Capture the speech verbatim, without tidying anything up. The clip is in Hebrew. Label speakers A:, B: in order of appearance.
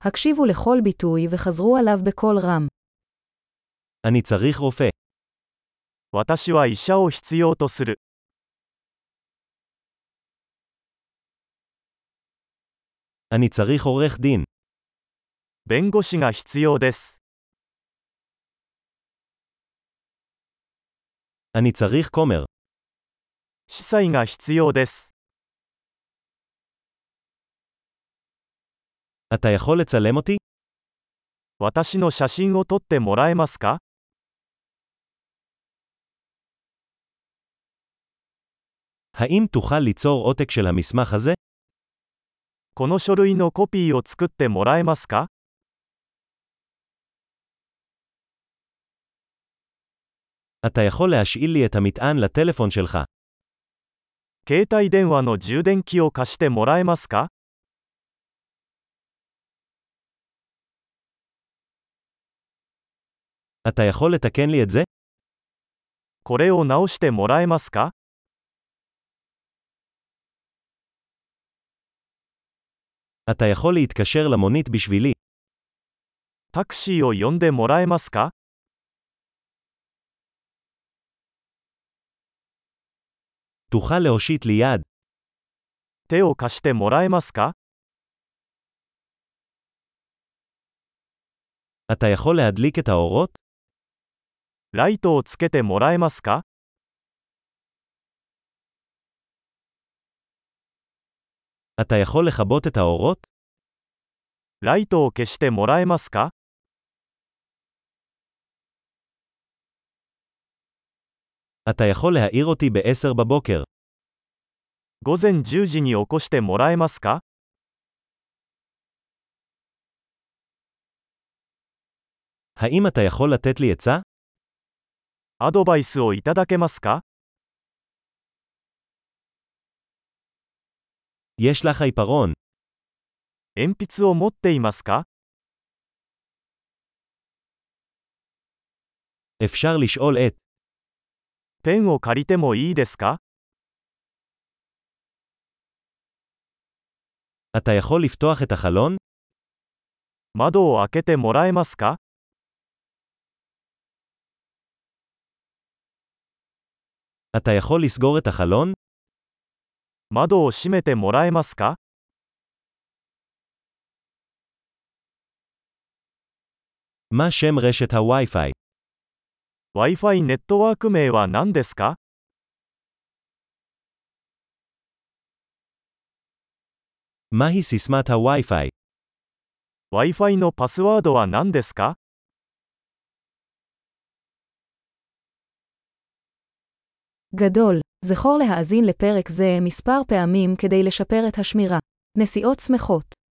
A: הקשיבו לכל ביטוי וחזרו עליו בקול רם.
B: אני צריך רופא.
C: 私は医者を必要とする。
B: אני צריך עורך דין.
C: 弁護士が必要です。
B: אני צריך כומר.
C: 司祭が必要です。
B: אתה יכול לצלם אותי?
C: 私の写真を撮ってもらえますか？
B: האם תוכל ליצור עותק של המסמך הזה?
C: この書類のコピーを作ってもらえますか？
B: אתה יכול להשאיל לי את המטען לטלפון שלך.
C: 携帯電話の充電器を貸してもらえますか？
B: אתה יכול לתקן לי את זה?
C: これを直してもらえますか？
B: אתה יכול להתקשר למונית בשבילי.
C: タクシーを呼んでもらえますか？
B: תוכל להושיט לי יד.
C: 手を貸してもらえますか？
B: אתה יכול להדליק את האורות?
C: ライトをつけてもらえますか？
B: אתה יכול לכבות את האורות?
C: ライトを消してもらえますか？
B: אתה יכול להעיר אותי ב-עשר בבוקר.
C: 午前じゅうじに起こしてもらえますか？
B: האם אתה יכול לתת לי עצה?
C: アドバイスをいただけますか？
B: יש לך עיפרון.
C: 鉛筆を持っていますか？
B: אפשר לשאול את.
C: ペンを借りてもいいですか？
B: אתה יכול לפתוח את החלון?
C: 窓を開けてもらえますか？
B: אתה יכול לסגור את החלון?
C: 窓を閉めてもらえますか？
B: מה שם רשת הווי-פיי?
C: Wi-Fi ネットワーク名は何ですか？
B: מהי סיסמת הווי-פיי?
C: Wi-Fi のパスワードは何ですか？
A: גדול. זכור להאזין לפרק זה מספר פעמים כדי לשפר את השמירה. נסיעות שמחות.